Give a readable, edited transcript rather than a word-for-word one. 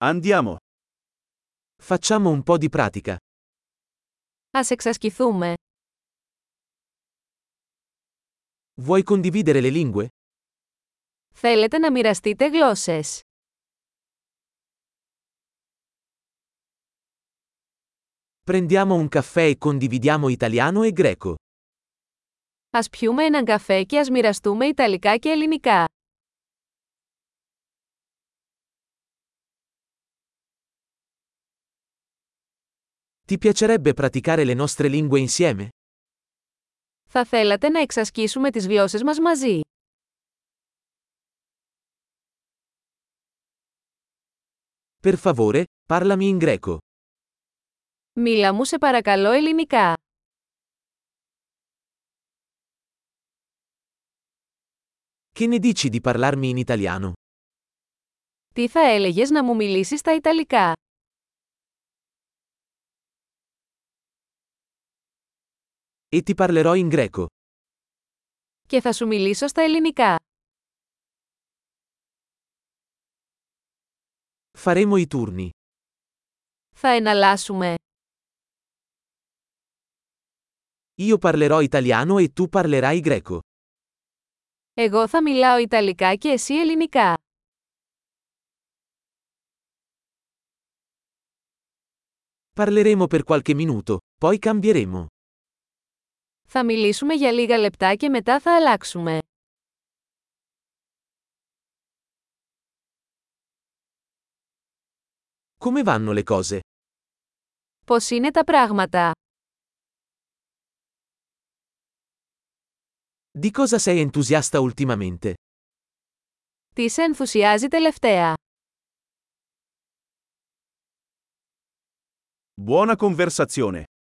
Andiamo. Facciamo un po' di pratica. Ας εξασκηθούμε. Vuoi condividere le lingue? Θέλετε να μοιραστείτε γλώσσες? Prendiamo un caffè e condividiamo italiano e greco. Ας πιούμε έναν καφέ και ας μοιραστούμε ιταλικά και ελληνικά. Ti piacerebbe praticare le nostre lingue insieme? Θα θέλατε να εξασκήσουμε τις γλώσσες μας μαζί? Per favore, parlami in greco. Μίλα μου σε παρακαλώ ελληνικά. Che ne dici di parlarmi in italiano? Τι θα έλεγες να μου μιλήσεις στα ιταλικά? E ti parlerò in greco. Και θα σου μιλήσω στα ελληνικά. Faremo i turni. Θα εναλλάσσουμε. Io parlerò italiano e tu parlerai greco. Εγώ θα μιλάω ιταλικά και εσύ ελληνικά. Parleremo per qualche minuto, poi cambieremo. Θα μιλήσουμε για λίγα λεπτά και μετά θα αλλάξουμε. Come vanno le cose? Πώς είναι τα πράγματα? Di cosa sei entusiasta ultimamente? Τι σε ενθουσιάζει τελευταία? Buona conversazione.